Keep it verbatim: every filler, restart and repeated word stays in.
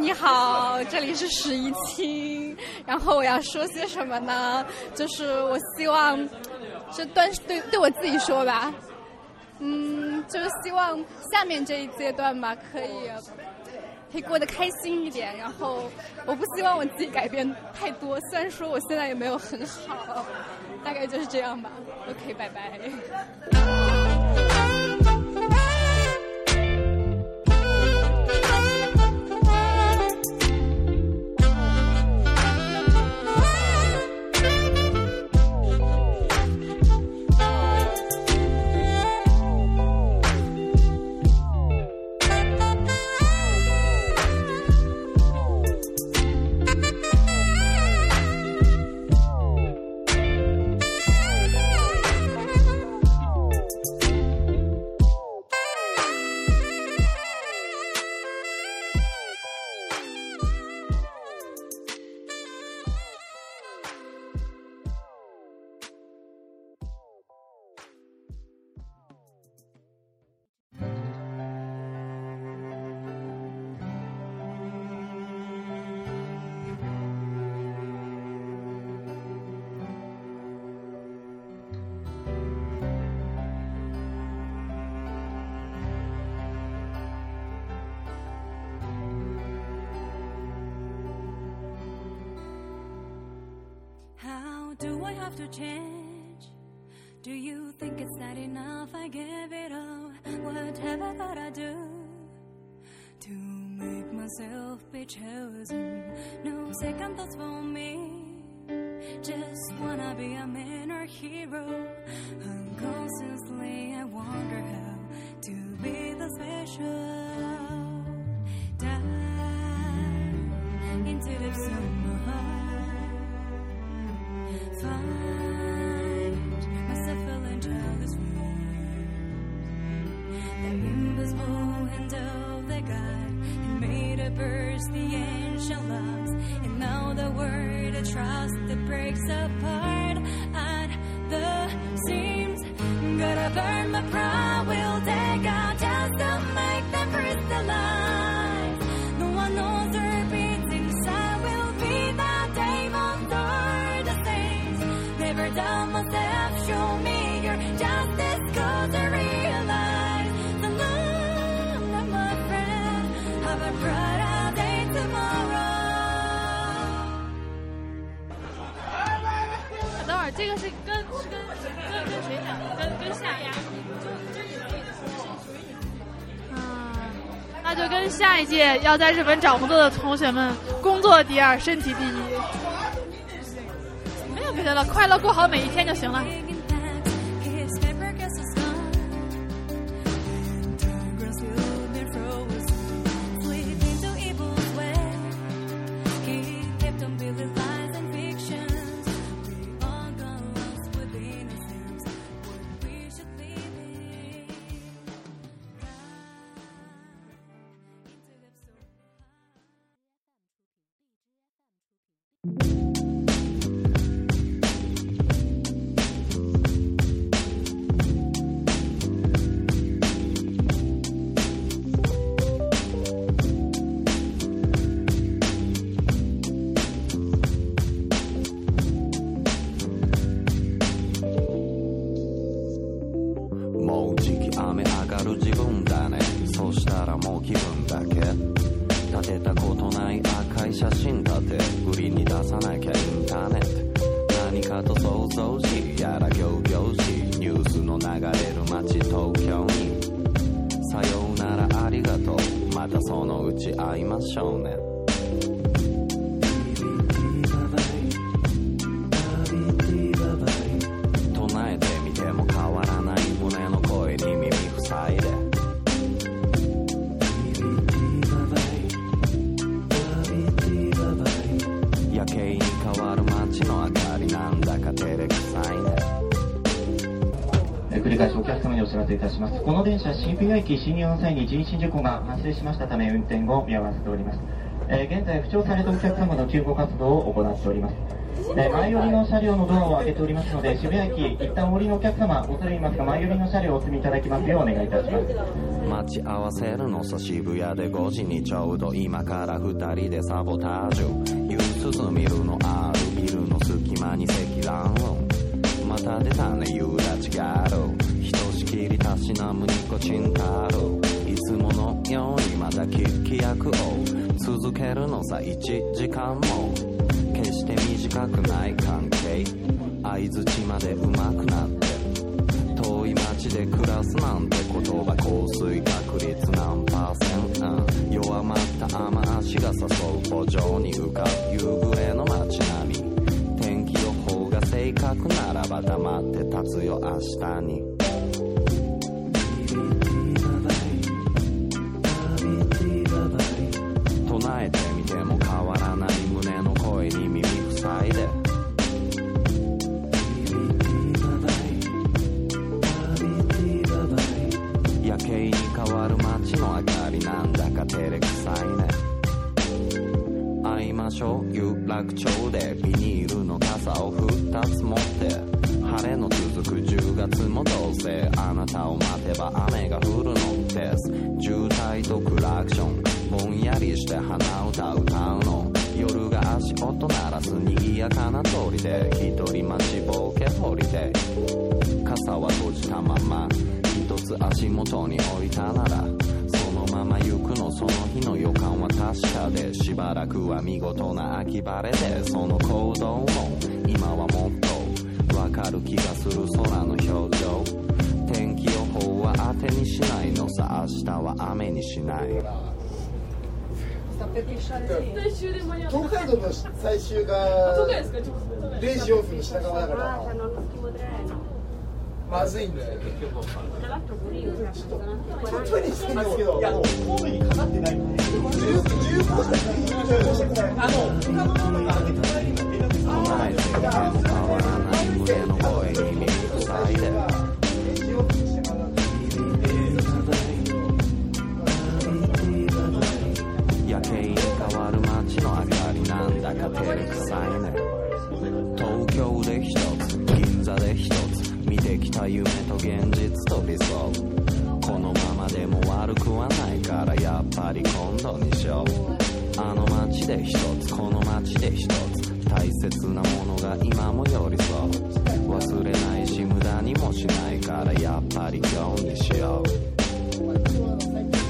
你好，这里是十一清。然后我要说些什么呢？就是我希望，这段对对我自己说吧，嗯，就是希望下面这一阶段吧，可以可以过得开心一点。然后我不希望我自己改变太多，虽然说我现在也没有很好，大概就是这样吧。OK， 拜拜。 Do I have to change? Do you think it's not enough? I give it all. What have I gotta do to make myself be chosen? No second thoughts for me. Just wanna be a man or hero. Unconsciously I wonder how to be the special. Dive into the summer. Find myself feeling childish. The invisible hand of the God that made a burst the ancient locks. And now the word of trust that breaks apart at the seams. Gotta burn my pride, we'll take out just to make them crystallize. No one knows their beats inside will be that day on never done myself, show me your justice, cause I realize the love of my friend, have a brighter day tomorrow. 等会儿这个是跟是跟跟跟谁讲？跟跟夏呀？嗯，那就跟下一届要在日本找工作的同学们，工作第二，身体第一。没有别的了，快乐过好每一天就行了。 繰り返しお客様にお知らせいたします。この電車、新富谷駅進入の際に人身事故が発生しましたため運転を見合わせております。えー、現在、負傷されたお客様の救護活動を行っております。 え前寄りの車両のドアを開けておりますので、渋谷駅一旦お降りのお客様、恐れ入りますが前寄りの車両をお積みいただきますようお願いいたします。 待ち合わせるのさ渋谷でごじにちょうど今からふたりでサボタージュ。夕涼みるのあるビルの隙間に積乱雲。また出たね夕立がある。ひとしきりたしなむニコチンタール。いつものようにまた聞き役を続けるのさいちじかんも。決して短くない関係。相づちまで上手くなって遠い街で暮らすなんて言葉降水確率何パーセント、うん、弱まった雨足が誘う歩上に浮かぶ夕暮れの街並み。天気予報が正確ならば黙って立つよ明日に。唱えてみても変わらない胸の声に耳塞いで。夜景に変わる街の明かりなんだか照れくさいね。会いましょう有楽町でビニールの傘をふたつ持って晴れの続くじゅうがつもどうせあなたを待てば雨が降るのです。渋滞とクラクションぼんやりして鼻歌歌うの。夜が足音鳴らす賑やかな通りで一人待ちぼうけ掘りで傘は閉じたまま一つ足元に置いたならそのまま行くの。その日の予感は確かでしばらくは見事な秋晴れでその行動も今はもっとわかる気がする空の表情。天気予報は当てにしないのさ明日は雨にしない。 東海道の最終がれいじよんぷんの品川だからまずいんだよ。トイレしてるんですけど、いやもうホームにかかってないんで。じゅうごふんあの他のものがあって隣に連絡してもらえる。変わらない胸の声に耳塞いで。 夜景に変わる街の明かりなんだか照れくさいね。東京で一つ銀座で一つ見てきた夢と現実と理想。このままでも悪くはないからやっぱり今度にしよう。あの街で一つこの街で一つ大切なものが今も寄り添う。忘れないし無駄にもしないからやっぱり今日にしよう。